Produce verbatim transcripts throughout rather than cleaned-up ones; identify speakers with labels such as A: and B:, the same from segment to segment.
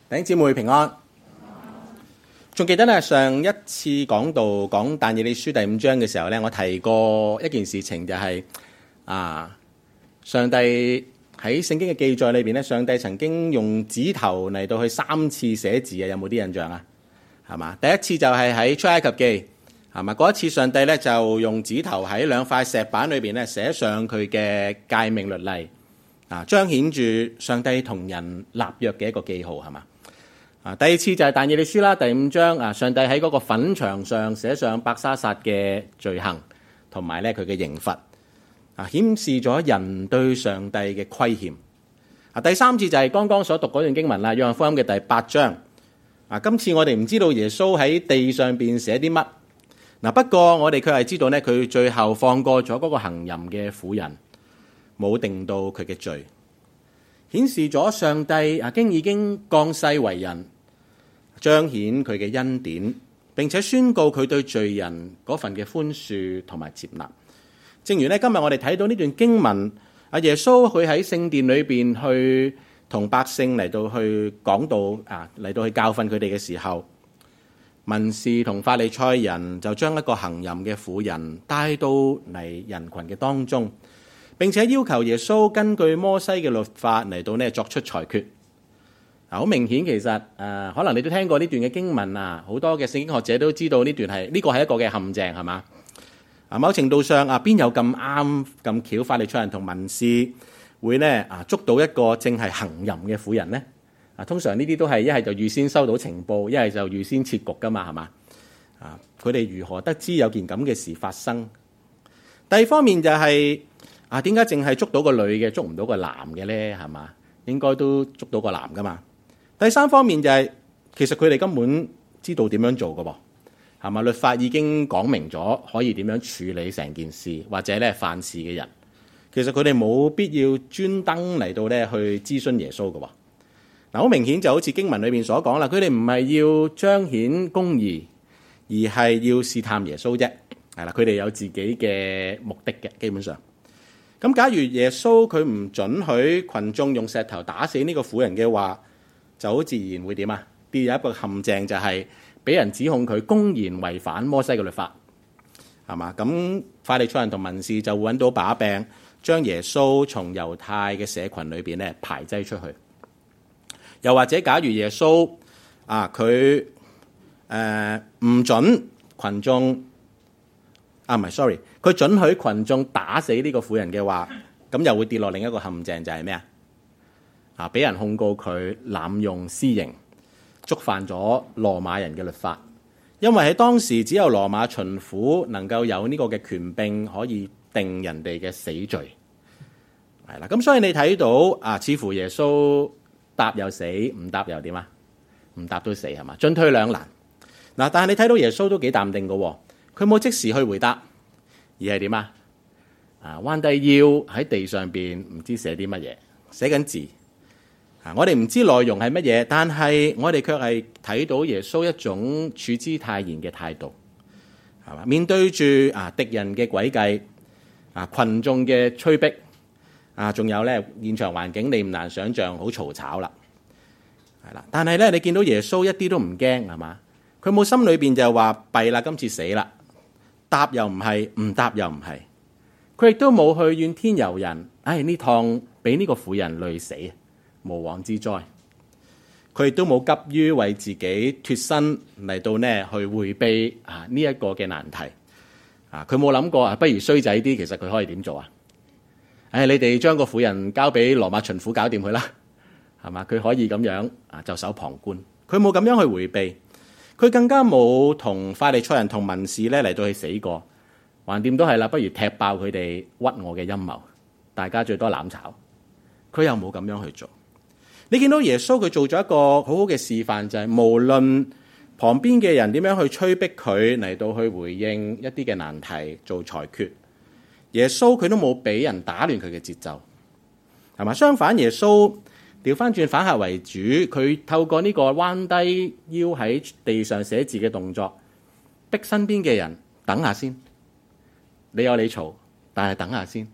A: 弟兄姊妹平安。仲記得咧，上一次講到講但以理書第五章嘅時候咧，我提過一件事情，就係啊，上帝喺聖經嘅記載裏邊咧，上帝曾經用指頭嚟到去三次寫字嘅，有冇啲印象啊？係嘛？第一次就係喺出埃及記，係嘛？嗰一次上帝咧就用指頭喺兩塊石板裏邊咧寫上佢嘅誡命律例，啊，彰顯住上帝同人立約嘅一個記號，係嘛？啊，第二次就係但以理書啦，第五章啊，上帝喺嗰個粉牆上寫上伯沙撒嘅罪行，同埋咧佢嘅刑罰，啊，顯示咗人對上帝嘅虧欠。啊，第三次就係剛剛所讀嗰段經文啦，約翰福音嘅第八章。啊，今次我哋唔知道耶穌喺地上邊寫啲乜，嗱，不過我哋卻係知道咧，佢最後放過咗嗰個行淫嘅婦人，冇定到佢嘅罪，顯示咗上帝啊經已經降世為人，彰顯佢嘅恩典，並且宣告佢對罪人嗰份嘅寬恕同埋接納。正如咧今日我哋睇到呢段經文，阿耶穌佢喺聖殿裏邊去同百姓嚟到去講道啊，嚟到去教訓佢哋嘅時候，文士同法利賽人就將一個行淫嘅婦人帶到嚟人群嘅當中，並且要求耶穌根據摩西嘅律法嚟到呢作出裁決。好明顯，其實誒、呃，可能你都聽過呢段嘅經文啊，好多嘅聖經學者都知道呢段係呢個係一個嘅陷阱，係嘛？啊，某程度上啊，邊有咁啱咁巧，法利賽人同文士會呢啊捉到一個正係行淫嘅婦人呢？啊，通常呢啲都係一係就預先收到情報，一係就預先設局噶嘛，係嘛？啊，佢哋如何得知有件咁嘅事發生？第二方面就係、是、啊，點解淨係捉到個女嘅，捉唔到個男嘅咧？係嘛？應該都捉到個男噶嘛？第三方面就係、是、其實佢哋根本知道點樣做㗎喎，係嘛？律法已經講明咗可以點樣處理成件事，或者咧犯事嘅人，其實佢哋冇必要專登嚟到咧去諮詢耶穌㗎喎。嗱，好明顯就好似經文裏面所講啦，佢哋唔係要彰顯公義，而係要試探耶穌啫。係啦，佢哋有自己嘅目的嘅，基本上。咁假如耶穌佢唔准許群眾用石頭打死呢個婦人嘅話，就好自然會點啊？跌入一個陷阱，就係俾人指控佢公然違反摩西嘅律法，係嘛？咁法利賽人同文士就會揾到把柄，將耶穌從猶太嘅社群裏邊咧排擠出去。又或者，假如耶穌啊佢誒唔准群眾啊，唔係 sorry， 佢准許群眾打死呢個婦人嘅話，咁又會跌落另一個陷阱，就係咩啊？啊！俾人控告佢濫用私刑，觸犯咗羅馬人嘅律法，因為喺當時只有羅馬巡撫能夠有呢個嘅權柄，可以定人哋嘅死罪。係啦，咁所以你睇到啊，似乎耶穌答又死，唔答又點啊？唔答都死係嘛？進退兩難。嗱，但係你睇到耶穌都幾淡定㗎，佢冇即時去回答，而係點啊？啊，彎低腰喺地上邊唔知寫啲乜嘢，寫緊字。我哋唔知內容係乜嘢，但係我哋卻係睇到耶穌一種處之泰然嘅態度，係嘛？面對住啊敵人嘅詭計，啊群眾嘅催逼，啊仲有咧現場環境，你唔難想象好嘈吵啦，係啦。但係咧，你見到耶穌一啲都唔驚，係嘛？佢冇心裏邊就話弊啦，今次死啦，答又唔係，唔答又唔係，佢亦都冇去怨天尤人，唉呢趟俾呢個婦人累死。無妄之災，佢亦都冇急於為自己脫身嚟到呢去迴避啊呢一個嘅難題啊！佢冇諗過啊，不如衰仔啲，其實佢可以點做啊？唉，你哋將個婦人交俾羅馬巡撫搞掂佢啦，係嘛？佢可以咁樣啊，袖手旁觀。佢冇咁樣去迴避，佢更加冇同法利賽人同文士咧嚟到去死過，橫掂都係啦，不如踢爆佢哋屈我嘅陰謀，大家最多攬炒。佢又冇咁樣去做。你見到耶穌佢做咗一個好好嘅示範，就係無論旁邊嘅人點樣去催逼佢嚟到去回應一啲嘅難題做裁決，耶穌佢都冇俾人打亂佢嘅節奏，係嘛？相反，耶穌調翻轉反客為主，佢透過呢個彎低腰喺地上寫字嘅動作，逼身邊嘅人等下先，你有你嘈，但係等下先，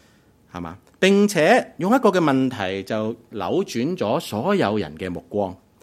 A: 係嘛？並且用一個嘅問題就扭轉咗所有人嘅目光，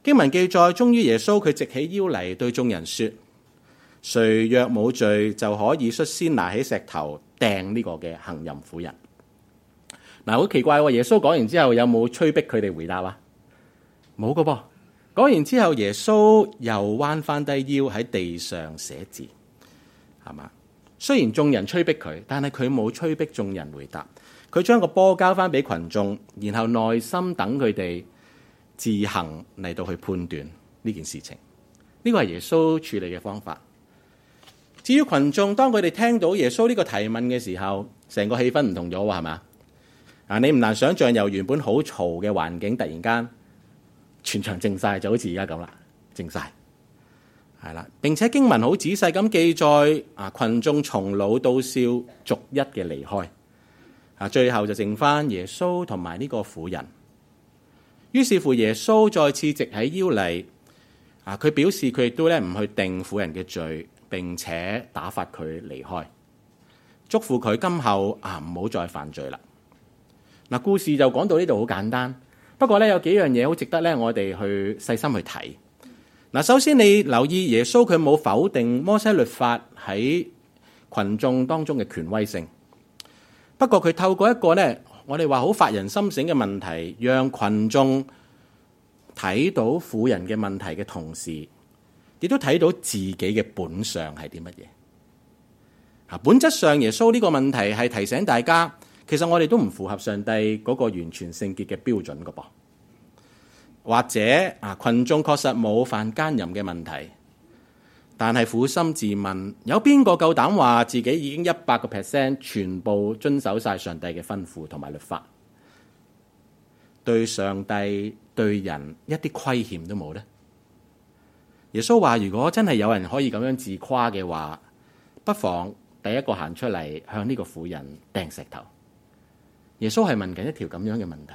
A: 經文記載，終於耶穌佢直起腰嚟對眾人說：誰若冇罪，就可以率先拿起石頭掟呢個嘅行淫婦人。嗱，好奇怪喎！耶穌講完之後，有冇催逼佢哋回答啊？冇噶噃。講完之後，耶穌又彎翻低腰喺地上寫字，係嘛？雖然眾人催逼佢，但係佢冇催逼眾人回答。佢將個波交翻俾群眾，然後耐心等佢哋自行嚟到去判斷呢件事情。呢個係耶穌處理嘅方法。至於群眾，當佢哋聽到耶穌呢個提問嘅時候，成個氣氛唔同咗喎，係嘛？啊，你唔難想象，由原本好嘈嘅環境，突然間全場靜晒，就好似而家咁啦，靜晒，係啦。並且經文好仔細咁記載，啊，群眾從老到少逐一嘅離開，啊，最後就剩翻耶穌同埋呢個婦人。於是乎，耶穌再次直起腰嚟，啊，佢表示佢亦都咧唔去定婦人嘅罪，並且打發佢離開，囑咐佢今後啊唔好再犯罪啦。嗱，故事就講到呢度好簡單。不過咧，有幾樣嘢好值得咧，我哋去細心去睇。嗱，首先你留意耶穌佢冇否定摩西律法喺群眾當中嘅權威性。不過佢透過一個咧，我哋話好發人心醒嘅問題，讓群眾睇到婦人嘅問題嘅同時，亦都睇到自己嘅本相係啲乜嘢。啊，本質上耶穌呢個問題係提醒大家，其實我哋都唔符合上帝嗰個完全聖潔嘅標準㗎噃，或者啊，群眾確實冇犯奸淫嘅問題，但係苦心自問，有邊個夠膽話自己已經一百個 percent 全部遵守晒上帝嘅吩咐同埋律法，對上帝對人一啲虧欠都冇呢？耶穌話：如果真係有人可以咁樣自誇嘅話，不妨第一個行出嚟向呢個婦人掟石頭。耶穌係問緊一條咁樣嘅問題，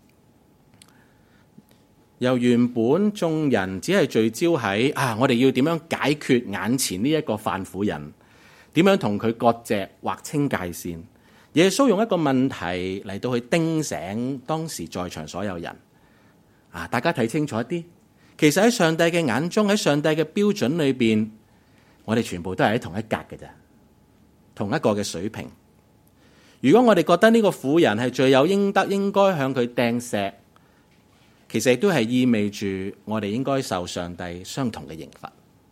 A: 由原本眾人只係聚焦喺啊，我哋要點樣解決眼前呢一個犯婦人，點樣同佢割席劃清界線。耶穌用一個問題嚟到去叮醒當時在場所有人啊，大家睇清楚一啲。其實喺上帝嘅眼中，喺上帝嘅標準裏邊，我哋全部都係喺同一格嘅咋，同一個嘅水平。如果我哋覺得呢個婦人係罪有應得，應該向佢掟石，其實亦都係意味住我哋應該受上帝相同嘅刑罰。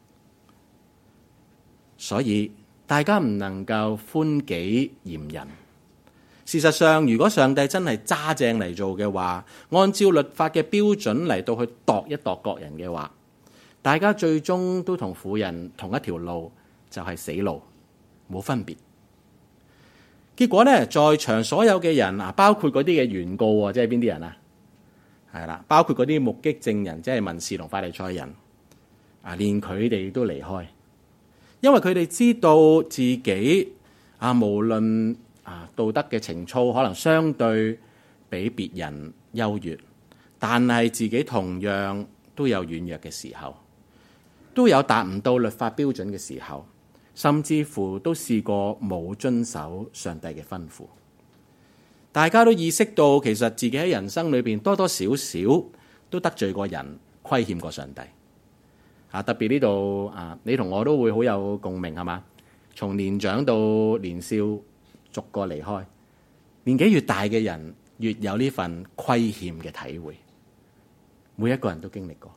A: 所以大家唔能夠寬己嚴人。事實上，如果上帝真係揸正嚟做嘅話，按照律法嘅標準嚟到去度一度各人嘅話，大家最終都同婦人同一條路，就係死路，冇分別。結果咧，在場所有嘅人啊，包括嗰啲嘅原告，即係邊啲人啊？係啦，包括嗰啲目擊證人，即係文士同法利賽人啊，連佢哋都離開，因為佢哋知道自己啊，無論啊道德嘅情操可能相對比別人優越，但係自己同樣都有軟弱嘅時候，都有達唔到律法標準嘅時候。甚至乎都試過冇遵守上帝嘅吩咐，大家都意識到其實自己喺人生裏邊多多少少都得罪過人，虧欠過上帝。啊，特別呢度啊，你同我都會好有共鳴，係嘛？從年長到年少，逐個離開，年紀越大嘅人越有呢份虧欠嘅體會，每一個人都經歷過。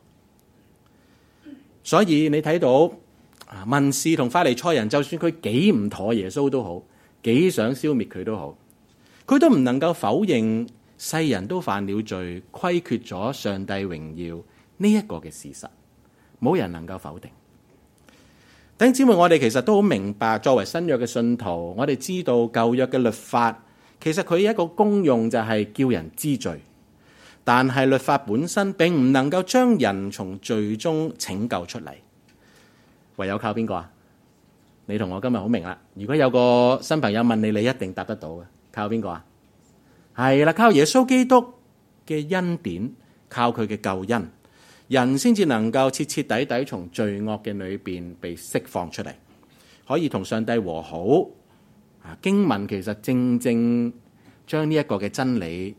A: 所以你睇到。文士同法利賽人，就算佢幾唔妥耶穌都好，幾想消滅佢都好，佢都唔能夠否認世人都犯了罪，虧缺咗上帝榮耀呢一個嘅事實，冇人能夠否定。弟兄姊妹，我哋其實都好明白，作為新約嘅信徒，我哋知道舊約嘅律法其實佢一個功用就係叫人知罪，但係律法本身並唔能夠將人從罪中拯救出嚟。唯有靠邊個啊？你同我今日好明啦。如果有個新朋友問你，你一定答得到嘅。靠邊個啊？係啦，靠耶穌基督嘅恩典，靠佢嘅救恩，人先至能夠徹徹底底從罪惡嘅裏邊被釋放出嚟，可以同上帝和好。啊，經文其實正正將呢一個嘅真理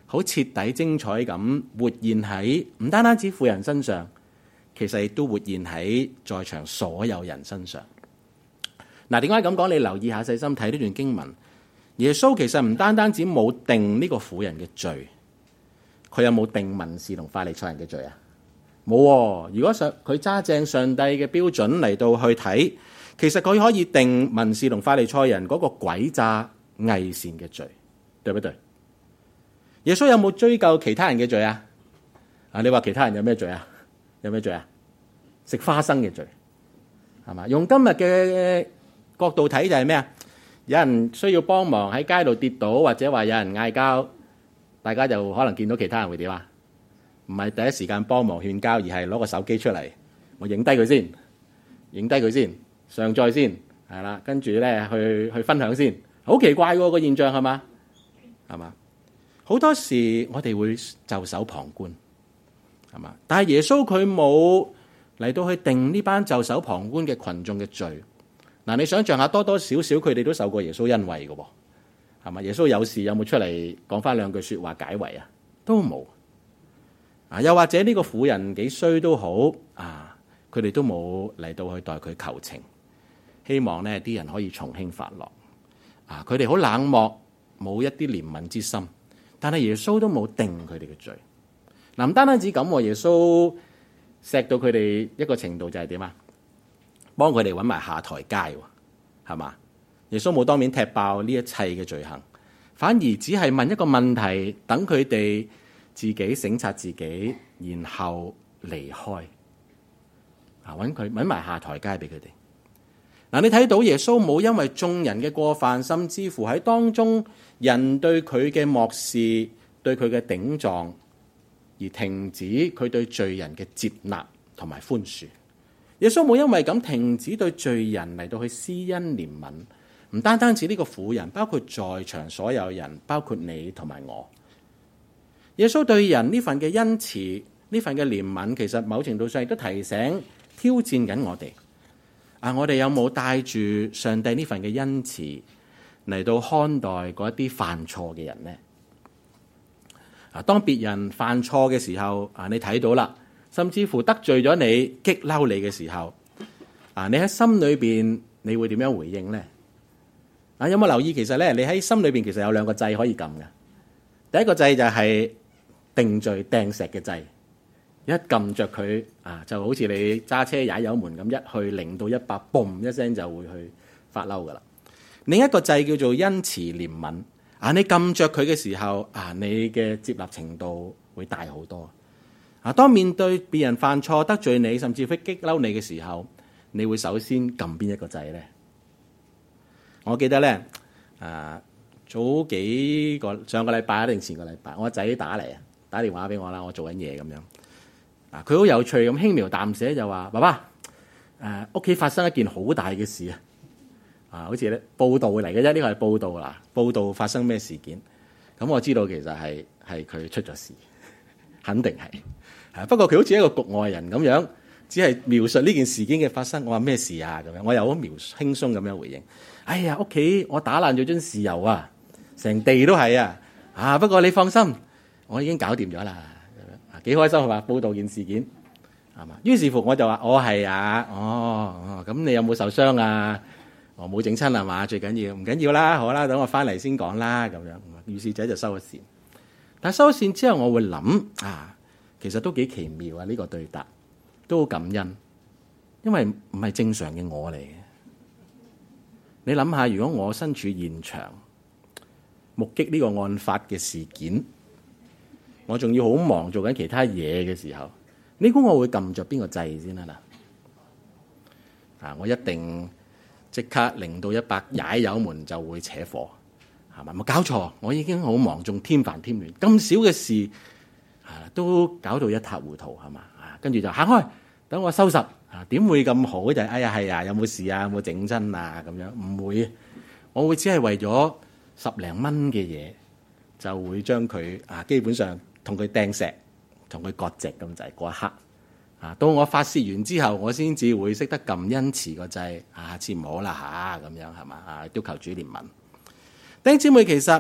A: 好徹底精彩咁活現喺唔單單止婦人身上，其實亦都活現喺在，在場所有人身上。嗱，點解咁講？你留意下，細心睇呢段經文，耶穌其實唔單單止冇定呢個婦人嘅罪，佢有冇定文士同法利賽人嘅罪啊？冇喎。如果上佢揸正上帝嘅標準嚟到去睇，其實佢可以定文士同法利賽人嗰個詭詐偽善嘅罪，對不對？耶穌有冇追究其他人嘅罪啊？啊，你話其他人有咩罪啊？有咩罪啊？食花生嘅罪，係嘛？用今日嘅角度睇就係咩啊？有人需要幫忙喺街度跌倒，或者話有人嗌交，大家就可能見到其他人會點啊？唔係第一時間幫忙勸交，而係攞個手機出嚟，我影低佢先，影低佢先，上載先，係啦，跟住咧去去分享先。好奇怪喎個現象，係嘛？係嘛？好多時我哋會袖手旁觀，係嘛？但係耶穌佢冇嚟到去定呢班袖手旁觀嘅群眾嘅罪。嗱，你想象下，多多少少佢哋都受過耶穌恩惠嘅喎，係嘛？耶穌有事有冇出嚟講翻兩句説話解圍啊？都冇啊！又或者呢個婦人幾衰都好啊，佢哋都冇嚟到去代佢求情，希望呢啲人可以從輕發落啊！佢哋好冷漠，冇一啲憐憫之心，但係耶穌都冇定佢哋嘅罪。嗱，唔單單止咁，耶穌錫到佢哋一個程度就係點啊？幫佢哋揾埋下台階，係嘛？耶穌冇當面踢爆呢一切嘅罪行，反而只係問一個問題，等佢哋自己省察自己，然後離開。啊，揾佢揾埋下台階俾佢哋。嗱，你睇到耶穌冇因為眾人嘅過犯，甚至乎喺當中人對佢嘅漠視、對佢嘅頂撞，而停止佢對罪人嘅接納同埋寬恕。耶穌冇因為咁停止對罪人嚟到去施恩憐憫，唔單單止呢個婦人，包括在場所有人，包括你同埋我。耶穌對人呢份嘅恩慈，呢份嘅憐憫，其實某程度上亦都提醒、挑戰緊我哋。啊，我哋有冇帶住上帝呢份嘅恩慈嚟到看待嗰一啲犯錯嘅人呢？啊，當別人犯錯嘅時候，啊，你睇到啦。甚至乎得罪咗你、激嬲你嘅時候，啊，你喺心裏邊你會點樣回應呢？啊，有冇留意其實咧，你喺心裏邊其實有兩個掣可以撳嘅。第一個掣就係定罪掟石嘅掣，一撳着佢啊，就好似你揸車踩油門咁，一去零到一百，嘣一聲就會去發嬲噶啦。另一個掣叫做恩慈憐憫，啊，你撳着佢嘅時候，啊，你嘅接納程度會大好多。啊！當面對別人犯錯得罪你，甚至會激嬲你嘅時候，你會首先撳邊一個掣呢？我記得咧，啊，早幾個上個禮拜定前個禮拜，我仔打嚟啊，打電話俾我啦，我做緊嘢咁樣。啊，佢好有趣咁輕描淡寫就話：爸爸，誒屋企發生一件好大嘅事啊！啊，好似咧報道嚟嘅啫，呢個係報道啦，報道發生咩事件？咁我知道其實係係佢出咗事，肯定係。不過佢好似一個局外人咁樣，只係描述呢件事件嘅發生。我話咩事啊？咁樣，我又好描輕鬆咁樣回應。哎呀，屋企我打爛咗樽豉油啊，成地都係啊！啊，不過你放心，我已經搞掂咗啦。咁樣幾開心係嘛？報道件事件係嘛？於是乎我就話：我係啊，哦，咁你有冇受傷啊？我冇整親係嘛？最緊要唔緊要啦，好啦，等我翻嚟先講啦。咁樣，於是者就收咗線。但係收咗線之後，我會諗啊。其實都幾奇妙啊！呢個對答都好感恩，因為唔係正常嘅我嚟嘅。你諗下，如果我身處現場，目擊呢個案發嘅事件，我仲要好忙做緊其他嘢嘅時候，你估我會撳着邊個掣先啊？嗱，啊，我一定即刻零到一百踩油門就會扯火，係咪？冇搞錯，我已經好忙，仲添煩添亂，咁少嘅事。啊，都搞到一塌糊塗係嘛？啊，跟住就行開，等我收拾。啊，點會咁好？就係哎呀係啊，有冇事啊？有冇整親啊？咁樣唔會，我會只係為咗十零蚊嘅嘢，就會將佢啊，基本上同佢掟石，同佢割席咁滯嗰一刻。啊，到我發洩完之後，我先至會識得撳恩慈個掣。啊，下次唔好啦吓，咁樣係嘛？啊，都求主憐憫。弟兄姊妹，其實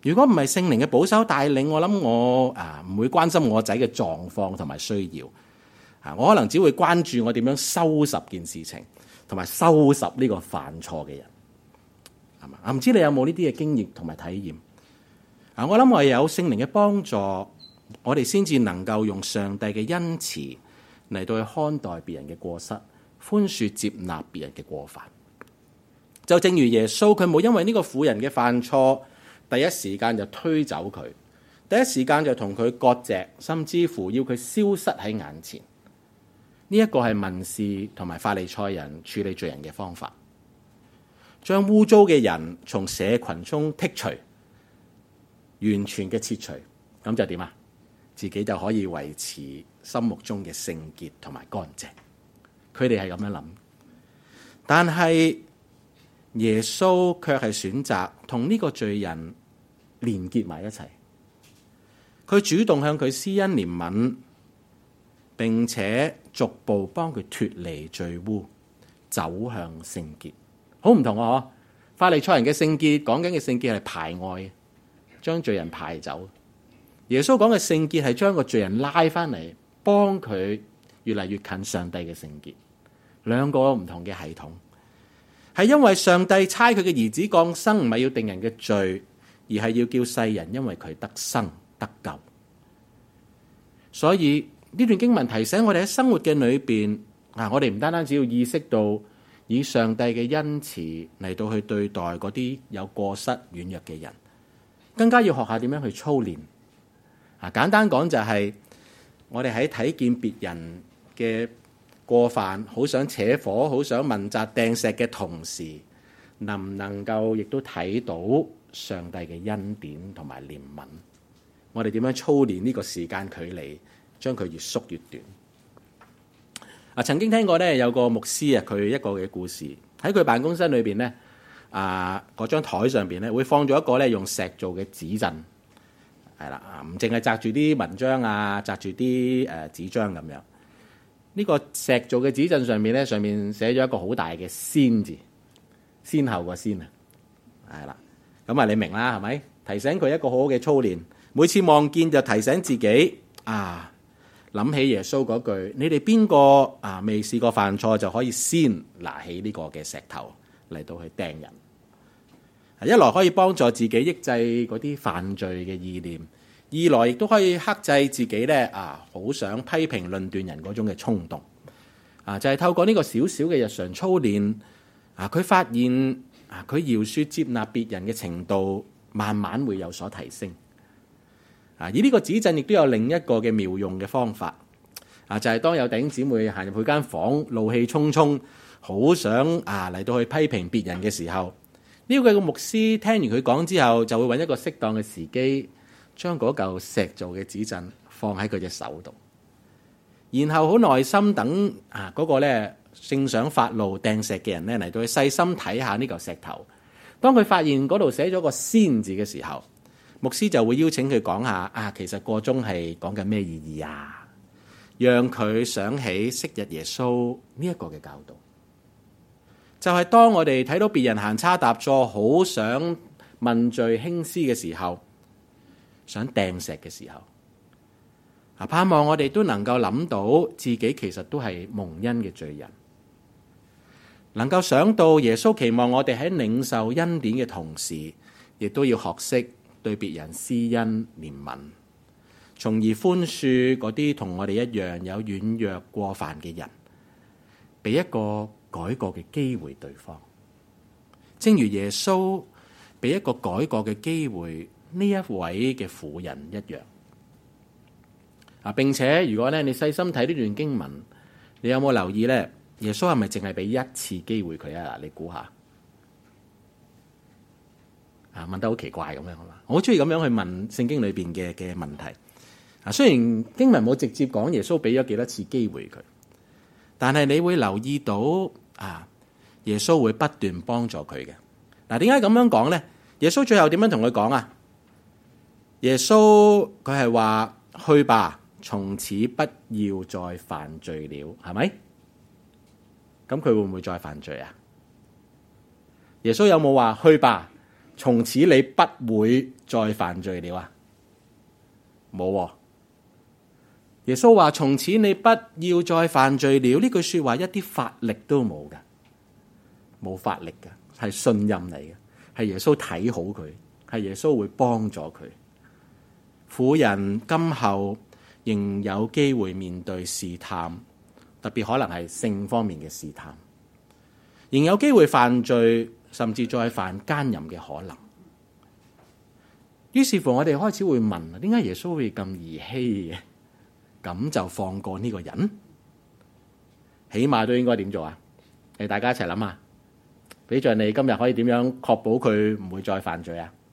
A: 如果唔係聖靈嘅保守帶領，我諗我啊唔會關心我仔嘅狀況同埋需要啊，我可能只會關注我點樣收拾件事情，同埋收拾呢個犯錯嘅人，係嘛？啊，唔知你有冇呢啲嘅經驗同埋體驗啊？我諗我有聖靈嘅幫助，我哋先至能夠用上帝嘅恩慈嚟到去看待別人嘅過失，寬恕接納別人嘅過犯。就正如耶穌，佢冇因為呢個婦人嘅犯錯，第一時間就推走佢，第一時間就同佢割席，甚至乎要佢消失喺眼前。呢一個係文士同埋法利賽人處理罪人嘅方法，將污糟嘅人從社群中剔除，完全嘅切除，咁就點啊？自己就可以維持心目中嘅聖潔同埋乾淨。佢哋係咁樣諗，但係耶穌卻係選擇同呢個罪人連結埋一齊。佢主動向佢施恩憐憫，並且逐步幫佢脫離罪污，走向聖潔。好唔同啊！嗬，法利賽人嘅聖潔，講緊嘅聖潔係排外，將罪人排走。耶穌講嘅聖潔係將個罪人拉翻嚟，幫佢越嚟越近上帝嘅聖潔。兩個唔同嘅系統，係因為上帝差佢嘅兒子降生，唔係要定人嘅罪，而係要叫世人因為佢得生得救。所以呢段經文提醒我哋喺生活嘅裏邊啊，我哋唔單單只要意識到以上帝嘅恩慈嚟到去對待嗰啲有過失軟弱嘅人，更加要學下點樣去操練。啊，簡單講就係我哋喺睇見別人嘅過犯，好想扯火，好想問責掟石嘅同時，能唔能夠亦都睇到上帝嘅恩典同埋憐憫？我哋點樣操練呢個時間距離，將佢越縮越短？啊，曾經聽過咧，有個牧師啊，佢一個嘅故事喺佢辦公室裏邊咧，啊，嗰張台上邊咧會放咗一個咧用石做嘅紙鎮，係啦，啊，唔淨係紮住啲文章啊，紮住啲誒紙張咁樣。呢個石做嘅紙鎮上面咧，上面寫咗一個好大嘅先字，先後個先啊，係啦，咁啊你明啦，係咪？提醒佢一個好好嘅操練，每次望見就提醒自己啊，諗起耶穌嗰句：你哋邊個啊未試過犯錯就可以先拿起呢個嘅石頭嚟到去掟人。一來可以幫助自己抑制嗰啲犯罪嘅意念。二來亦都可以克制自己咧啊，好想批評論斷人嗰種嘅衝動啊，就係透過呢個小小嘅日常操練啊，佢發現啊，佢饒恕接納別人嘅程度慢慢會有所提升啊。而呢個指陣亦都有另一個嘅妙用嘅方法啊，就係當有弟兄姊妹行入去間房，怒氣沖沖，好想啊嚟到去批評別人嘅時候，呢個嘅牧師聽完佢講之後，就會揾一個適當嘅時機，將嗰嚿石做嘅紙鎮放喺佢隻手度，然後好耐心等啊嗰個咧正想發怒掟石嘅人咧嚟到去細心睇下呢嚿石頭。當佢發現嗰度寫咗個先字嘅時候，牧師就會邀請佢講下啊，其實個鐘係講緊咩意義啊？讓佢想起昔日耶穌呢一個嘅教導，就係當我哋睇到別人行差踏錯，好想問罪輕施嘅時候，想掟石嘅時候，啊，盼望我哋都能夠諗到自己其實都係蒙恩嘅罪人，能夠想到耶穌期望我哋喺領受恩典嘅同時，亦都要學識對別人施恩憐憫，從而寬恕嗰啲同我哋一樣有軟弱過犯嘅人，俾一個改過嘅機會對方，正如耶穌俾一個改過嘅機會呢一位嘅婦人一樣啊！並且如果咧你細心睇呢段經文，你有冇留意咧？耶穌係咪淨係俾一次機會佢啊？你估下啊？問得好奇怪咁樣係嘛？我好中意咁樣去問聖經裏邊嘅嘅問題啊！雖然經文冇直接講耶穌俾咗幾多次機會佢，但係你會留意到啊，耶穌會不斷幫助佢嘅。嗱，點解咁樣講咧？耶穌最後點樣同佢講啊？耶穌佢係話去吧，從此不要再犯罪了，係咪？咁佢會唔會再犯罪啊？耶穌有冇話去吧， 從此你不會再犯罪了啊？冇喎。耶穌話從此你不要再犯罪了，呢句說話一啲法力都冇㗎，冇法力㗎，係信任嚟嘅，係耶穌睇好佢，係耶穌會幫助佢。婦人今後仍有機會面對試探，特別可能係性方面嘅試探，仍有機會犯罪，甚至再犯奸淫嘅可能。於是乎我哋開始會問，點解耶穌會咁兒戲嘅？咁就放過呢個人？起碼都應該點做啊？嚟，大家一齊諗下，比著你今日可以點樣確保佢唔會再犯罪啊？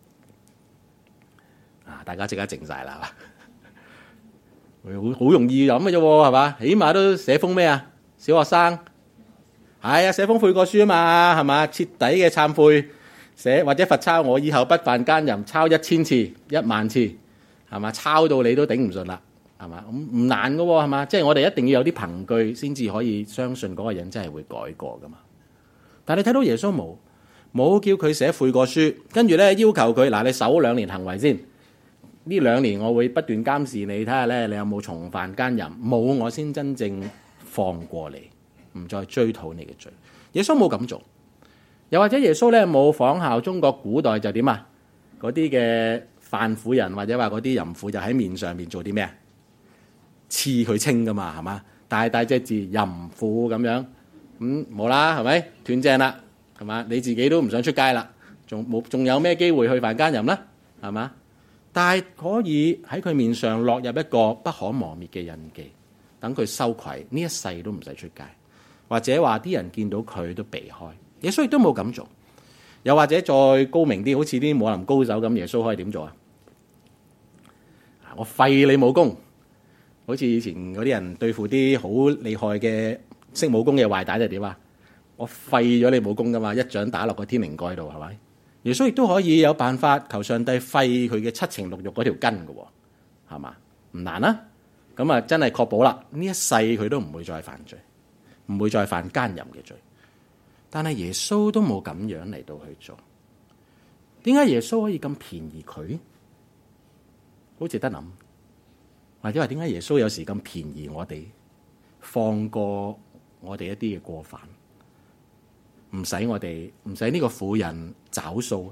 A: 啊！大家即刻靜晒啦，好好容易諗嘅啫，係嘛？起碼都寫封咩啊？小學生係啊，寫封悔過書啊嘛，係嘛？徹底嘅懺悔，寫或者罰抄，我以後不犯奸淫，抄一千次、一萬次，係嘛？抄到你都頂唔順啦，係嘛？咁唔難嘅喎，係嘛？即係我哋一定要有啲憑據先至可以相信嗰個人真係會改過噶嘛。但係你睇到耶穌冇冇叫佢寫悔過書，跟住咧要求佢嗱，你守兩年行為先。呢兩年我會不斷監視你，睇下咧你有冇重犯奸淫，冇我先真正放過你，唔再追討你嘅罪。耶穌冇咁做，又或者耶穌咧冇仿效中國古代就點啊？嗰啲嘅犯婦人或者話嗰啲淫婦就喺面上面做啲咩啊？刺佢青噶嘛，係嘛？大大隻字淫婦咁樣，咁冇啦，係咪斷正啦？係嘛？你自己都唔想出街啦，仲冇仲有咩機會去犯奸淫啦？係嘛？但係可以喺佢面上落入一個不可磨滅嘅印記，等佢羞愧，呢一世都唔使出街，或者話啲人見到佢都避開。耶穌亦都冇咁做。又或者再高明啲，好似啲武林高手咁，耶穌可以點做啊？我廢你武功，好似以前嗰啲人對付啲好厲害嘅識武功嘅壞蛋就點啊？我廢咗你武功噶嘛，一掌打落個天靈蓋度，係咪？耶穌亦都可以有辦法求上帝廢佢嘅七情六欲嗰條根嘅，係嘛？唔難啊！咁啊，真係確保啦，呢一世佢都唔會再犯罪，唔會再犯奸淫嘅罪。但係耶穌都冇咁樣嚟到去做，點解耶穌可以咁便宜佢？好值得諗，或者話點解耶穌有時咁便宜我哋，放過我哋一啲嘅過犯？唔使我哋，唔使呢個婦人找數。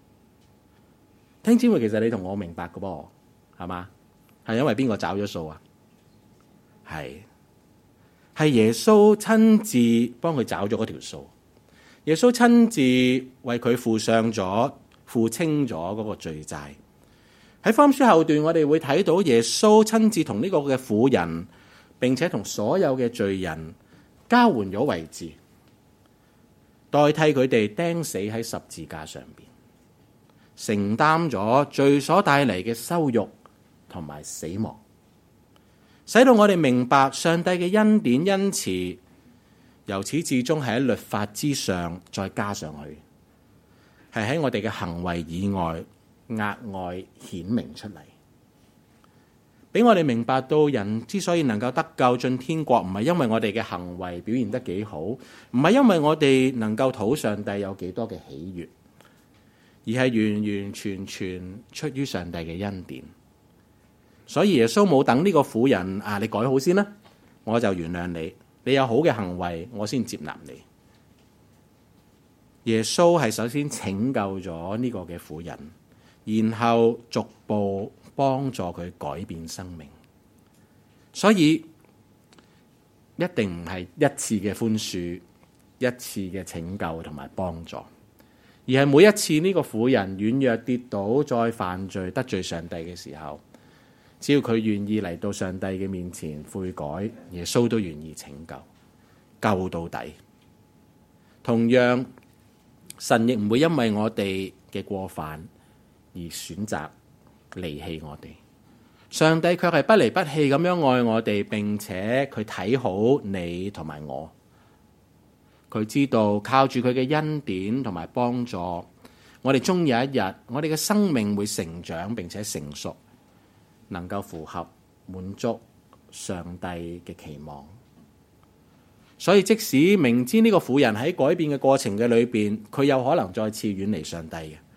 A: 聽姊妹，其實你同我明白嘅噃，係嘛？係因為邊個找咗數啊？係係耶穌親自幫佢找咗嗰條數。耶穌親自為佢付上咗、付清咗嗰個罪債。喺福音書後段，我哋會睇到耶穌親自同呢個嘅婦人，並且同所有嘅罪人交換咗位置。代替佢哋釘死喺十字架上邊，承擔咗罪所帶嚟嘅羞辱同埋死亡，使到我哋明白上帝嘅恩典恩慈，由始至終係喺律法之上再加上去，係喺我哋嘅行為以外額外顯明出嚟，俾我哋明白到人之所以能夠得救進天國，唔係因為我哋嘅行為表現得幾好，唔係因為我哋能夠討上帝有幾多嘅喜悅，而係完完全全出於上帝嘅恩典。所以耶穌冇等呢個婦人啊，你改好先啦，我就原諒你，你有好嘅行為，我先接納你。耶穌係首先拯救咗呢個嘅婦人，然後逐步幫助佢改變生命。所以一定唔係一次嘅寬恕，一次嘅拯救同埋幫助，而係每一次呢個婦人軟弱跌倒再犯罪得罪上帝嘅時候，只要佢願意嚟到上帝嘅面前悔改，耶穌都願意拯救，救到底。同樣，神亦唔會因為我哋嘅過犯而選擇離棄我哋。上帝卻係不離不棄咁樣愛我哋，並且佢睇好你同埋我。佢知道靠住佢嘅恩典同埋幫助，我哋終有一日，我哋嘅生命會成長並且成熟，能夠符合滿足上帝嘅期望。所以即使明知呢個婦人喺改變嘅過程嘅裏邊，佢有可能再次遠離上帝嘅，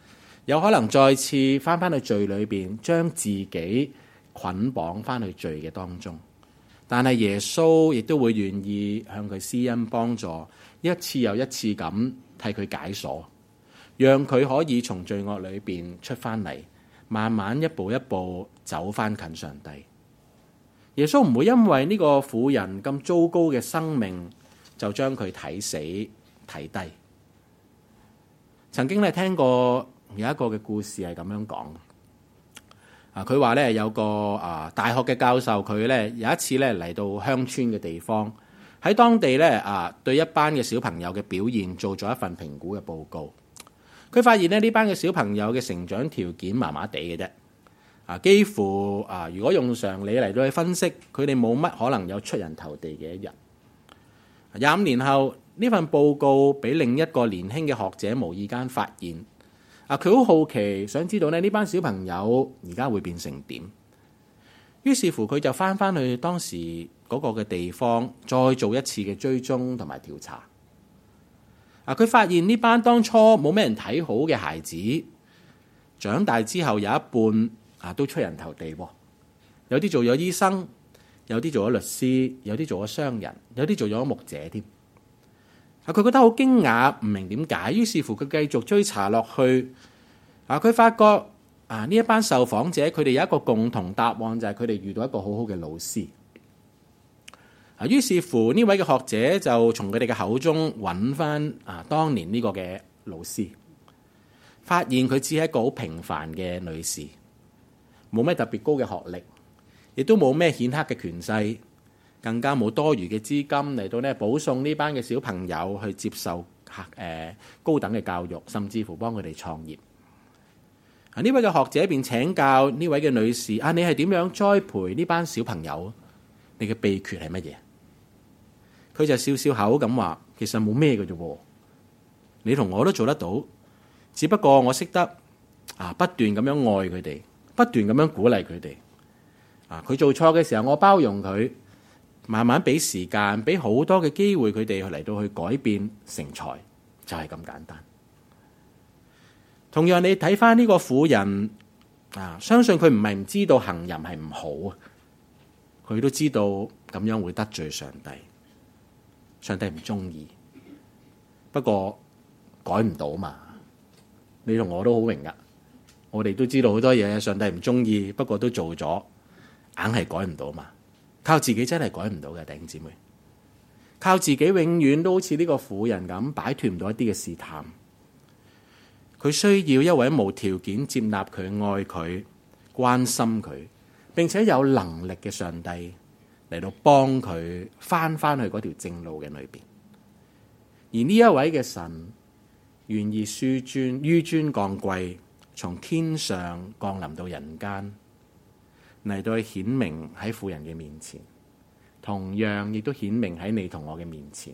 A: 有可能再次翻返去罪裏邊，將自己捆綁翻去罪嘅當中。但係耶穌亦都會願意向佢施恩幫助，一次又一次咁替佢解鎖，讓佢可以從罪惡裏邊出翻嚟，慢慢一步一步走翻近上帝。耶穌唔會因為呢個婦人咁糟糕嘅生命就將佢睇死睇低。曾經咧聽過有一個嘅故事係咁樣講，啊佢話咧有個啊大學嘅教授，佢咧有一次咧嚟到鄉村嘅地方，喺當地咧啊對一班嘅小朋友嘅表現做咗一份評估嘅報告。佢發現咧呢班嘅小朋友嘅成長條件麻麻地嘅啫，啊幾乎啊如果用常理嚟到去分析，佢哋冇乜可能有出人頭地嘅一日。廿五年後，呢份報告俾另一個年輕嘅學者無意間發現，啊佢好好奇，想知道咧呢班小朋友而家會變成點。於是乎佢就翻翻去當時嗰個嘅地方，再做一次嘅追蹤同埋調查。啊佢發現呢班當初冇咩人睇好嘅孩子，長大之後有一半啊都出人頭地，有啲做咗醫生，有啲做咗律師，有啲做咗商人，有啲做咗牧者添。啊，佢覺得好驚訝，唔明點解，於是乎佢繼續追查落去。啊，佢發覺啊呢一班受訪者，佢哋有一個共同答案，就係佢哋遇到一個好好嘅老師。啊，於是乎呢位嘅學者就從佢哋嘅口中揾翻啊當年呢個嘅老師，發現佢只係一個好平凡嘅女士，冇咩特別高嘅學歷，亦都冇咩顯赫嘅權勢，更加冇多餘嘅資金嚟到呢保送呢班嘅小朋友去接受誒高等嘅教育，甚至乎幫佢哋創業。啊，呢位嘅學者便請教呢位嘅女士：啊，你係點樣栽培呢班小朋友？你嘅秘訣係乜嘢？佢就笑笑口咁話：其實冇咩嘅啫，你同我都做得到，只不過我識得啊不斷咁樣愛佢哋，不斷咁樣鼓勵佢哋。啊，佢做錯嘅時候，我包容佢。慢慢俾時間，俾好多嘅機會佢哋嚟到去改變成才，就係咁簡單。同樣你睇翻呢個婦人啊，相信佢唔係唔知道行淫係唔好啊，佢都知道咁樣會得罪上帝，上帝唔中意。不過改唔到嘛，你同我都好榮噶，我哋都知道好多嘢上帝唔中意，不過都做咗，硬係改唔到嘛。靠自己真係改唔到嘅，弟兄姊妹。靠自己永遠都好似呢個婦人咁，擺脫唔到一啲嘅試探。佢需要一位無條件接納佢、愛佢、關心佢，並且有能力嘅上帝嚟到幫佢翻翻去嗰條正路嘅裏邊。而呢一位嘅神願意紆尊紆尊降貴，從天上降臨到人間，嚟到去顯明喺婦人嘅面前，同樣亦都顯明喺你同我嘅面前。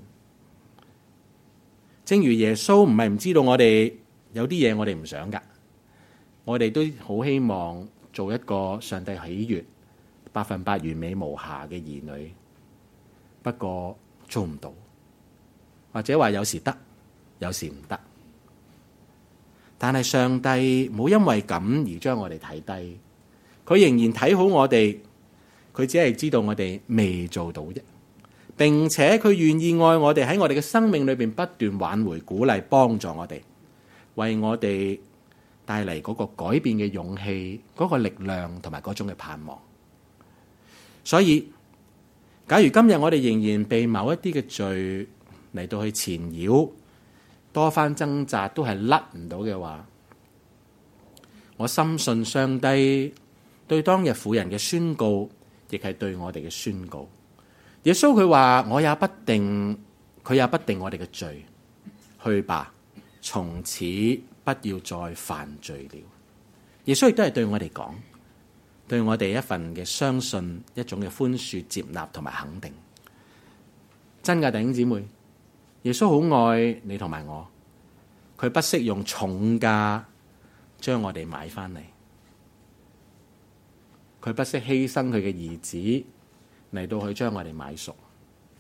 A: 正如耶穌唔係唔知道我哋有啲嘢我哋唔想噶，我哋都好希望做一個上帝喜悅、百分百完美無瑕嘅兒女。不過做唔到，或者話有時得，有時唔得。但係上帝冇因為咁而將我哋睇低。佢仍然睇好我哋，佢只係知道我哋未做到啫，並且佢願意愛我哋，喺我哋嘅生命裏邊不斷挽回、鼓勵、幫助我哋，為我哋帶嚟嗰個改變嘅勇氣、嗰個力量同埋嗰種嘅盼望。所以，假如今日我哋仍然被某一啲嘅罪嚟到去纏繞，多番掙扎都係甩唔到嘅話，我深信上帝對當日婦人嘅宣告，亦係對我哋嘅宣告。耶穌佢話：我也不定，佢也不定我哋嘅罪，去吧，從此不要再犯罪了。耶穌亦都係對我哋講，對我哋一份嘅相信，一種嘅寬恕、接納同埋肯定。真㗎，弟兄姊妹，耶穌好愛你同埋我，佢不惜用重價將我哋買翻嚟。佢不惜犧牲佢嘅兒子嚟到去將我哋買贖，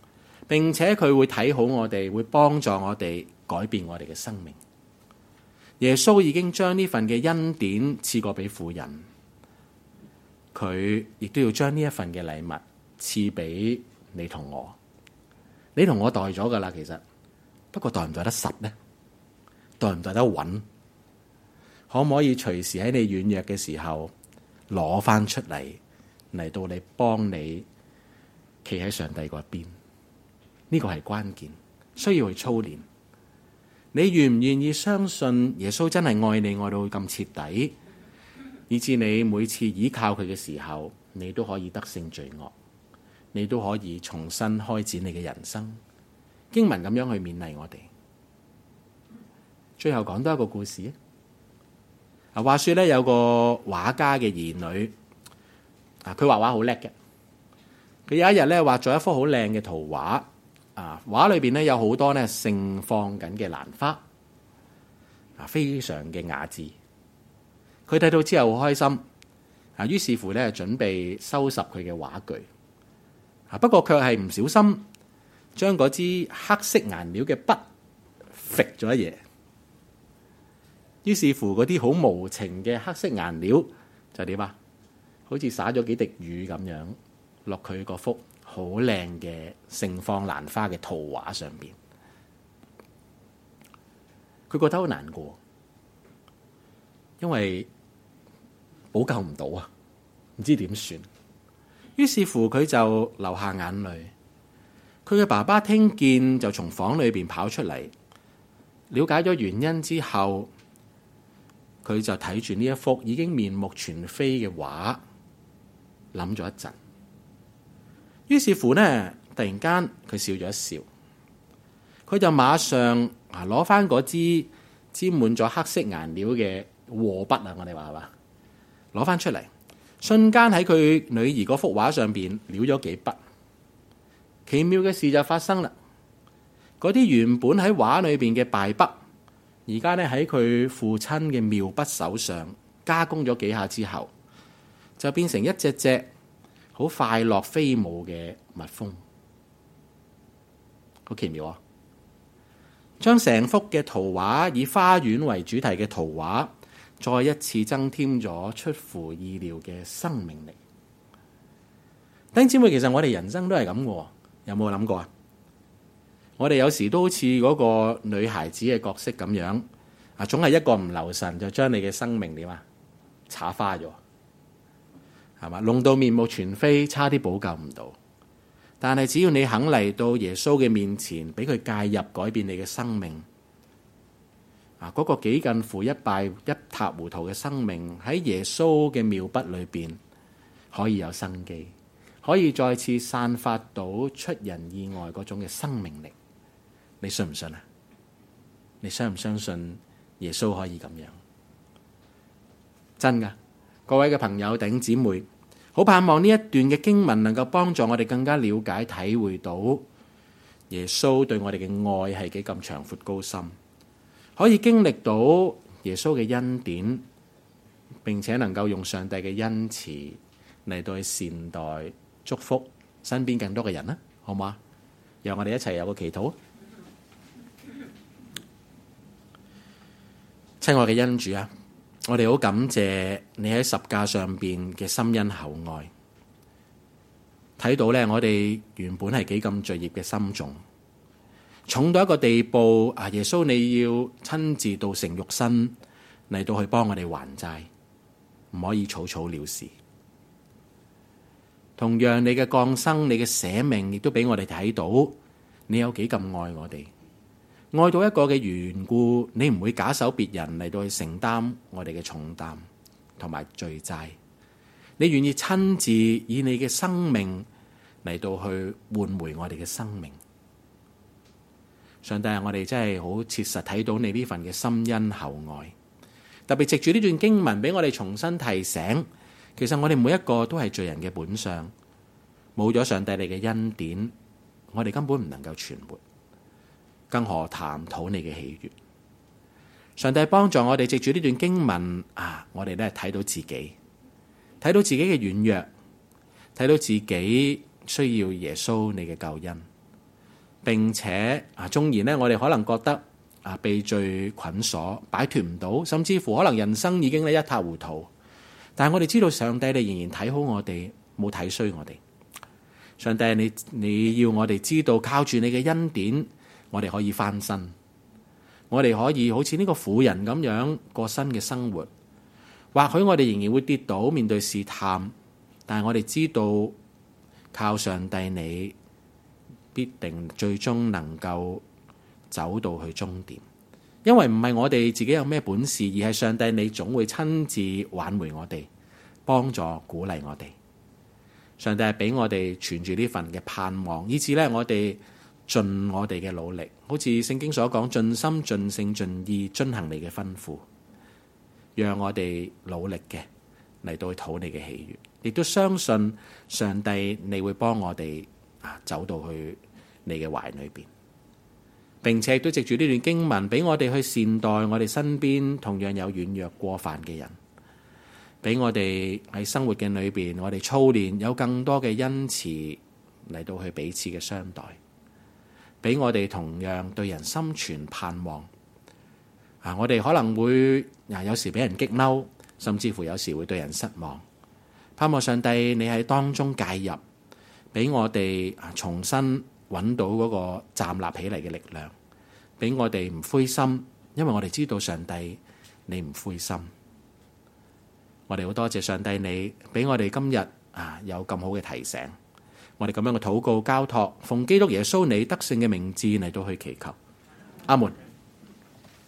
A: 並且佢會睇好我哋，會幫助我哋改變我哋嘅生命。 耶穌已經將呢份嘅恩典賜過俾婦人，佢亦都要將呢一份嘅禮物賜俾你同我。你同我袋咗噶啦，其實不過袋唔袋得實呢？袋唔袋得穩？可唔可以隨時喺你軟弱嘅時候攞翻出嚟，嚟到你幫你企喺上帝嗰邊？呢個係關鍵，需要去操練。你願唔願意相信耶穌真係愛你愛到咁徹底，以至你每次依靠佢嘅時候，你都可以得勝罪惡，你都可以重新開展你嘅人生。經文咁樣去勉勵我哋。最後講多一個故事啊。話說咧，有個畫家嘅兒女啊，佢畫畫好叻嘅。佢有一日咧畫咗一幅好靚嘅圖畫。啊！畫裏邊咧有好多咧盛放緊嘅蘭花，啊，非常嘅雅致。佢睇到之後好開心，啊，於是乎咧準備收拾佢嘅畫具，啊，不過卻係唔小心將嗰支黑色顏料嘅筆揈咗一嘢，於是乎嗰啲好無情嘅黑色顏料就點啊？好似灑咗幾滴雨咁樣落佢嗰幅好靚嘅盛放蘭花嘅圖畫上邊，佢覺得好難過，因為補救唔到啊，唔知點算。於是乎佢就流下眼淚。佢嘅爸爸聽見就從房裏邊跑出嚟，了解咗原因之後，佢就睇住呢一幅已經面目全非嘅畫，諗咗一陣。於是乎呢，突然間佢笑咗一笑，佢就馬上啊攞翻嗰支沾滿咗黑色顏料嘅和筆啊，我哋話係嘛，攞翻出嚟，瞬間喺佢女兒嗰幅畫上邊潦咗幾筆。奇妙嘅事就發生啦，嗰啲原本喺畫裏邊嘅敗筆，而家呢喺佢父親嘅妙筆手上加工咗幾下之後，就變成一隻隻好快樂飛舞嘅蜜蜂，好奇妙啊！將成幅嘅圖畫以花園為主題嘅圖畫，再一次增添咗出乎意料嘅生命力。弟兄姊妹，其實我哋人生都係咁嘅，有冇諗過啊？我哋有時都好似嗰個女孩子嘅角色咁樣，啊，總係一個唔留神就將你嘅生命點啊，插花咗。係嘛？弄到面目全非，差啲補救唔到。但係只要你肯嚟到耶穌嘅面前，俾佢介入，改變你嘅生命。啊，嗰個幾近乎一敗一塌糊塗嘅生命，喺耶穌嘅妙筆裏邊可以有生機，可以再次散發到出人意外嗰種嘅生命力。你信唔信啊？你相唔相信耶穌可以咁樣？真㗎。各位嘅朋友、弟兄姊妹，好盼望呢一段嘅經文能夠幫助我哋更加了解、體會到耶穌對我哋嘅愛係幾咁長闊高深，可以經歷到耶穌嘅恩典，並且能夠用上帝嘅恩慈嚟到去善待、祝福身邊更多嘅人啦，好唔好啊？讓我哋一齊有個祈禱。親愛嘅恩主啊！我哋好感謝你喺十架上邊嘅深恩厚愛，睇到咧我哋原本係幾咁罪孽嘅深重，重到一個地步啊！耶穌你要親自道成肉身嚟到去幫我哋還債，唔可以草草了事。同樣你嘅降生、你嘅捨命，亦都俾我哋睇到你有幾咁愛我哋。愛到一個嘅緣故，你唔會假手別人嚟到去承擔我哋嘅重擔同埋罪債，你願意親自以你嘅生命嚟到去換回我哋嘅生命。上帝啊，我哋真係好切實睇到你呢份嘅深恩厚愛，特別藉住呢段經文俾我哋重新提醒，其實我哋每一個都係罪人嘅本相，冇咗上帝你嘅恩典，我哋根本唔能夠存活。更何談討你嘅喜悅。上帝幫助我哋藉住呢段經文啊，我哋咧睇到自己，睇到自己嘅軟弱，睇到自己需要耶穌你嘅救恩，並且啊，縱然咧我哋可能覺得啊被罪捆鎖，擺脫唔到，甚至乎可能人生已經咧一塌糊塗。但係我哋知道上帝你仍然睇好我哋，冇睇衰我哋。上帝你你要我哋知道，靠住你嘅恩典，我哋可以翻身，我哋可以好似呢個婦人咁樣過新嘅生活。或許我哋仍然會跌倒，面對試探，但係我哋知道靠上帝你必定最終能夠走到去終點，因為唔係我哋自己有咩本事，而係上帝你總會親自挽回我哋，幫助鼓勵我哋。上帝係俾我哋存住呢份嘅盼望，以至咧我哋盡我哋嘅努力，好似聖經所講，盡心盡性盡意遵行你嘅吩咐，讓我哋努力嘅嚟到去討你嘅喜悅，亦都相信上帝你會幫我哋啊走到去你嘅懷裏邊，並且亦都藉住呢段經文俾我哋去善待我哋身邊同樣有軟弱過犯嘅人，俾我哋喺生活嘅裏邊，我哋操練有更多嘅恩慈嚟到去彼此嘅相待，俾我哋同樣對人心存盼望。啊，我哋可能會啊有時俾人激嬲，甚至乎有時會對人失望。盼望上帝你喺當中介入，俾我哋重新揾到嗰個站立起嚟嘅力量，俾我哋唔灰心，因為我哋知道上帝你唔灰心。我哋好多謝上帝你俾我哋今日啊有咁好嘅提醒，我哋咁樣嘅禱告交託，奉基督耶穌你得勝嘅名字嚟到去祈求，阿門。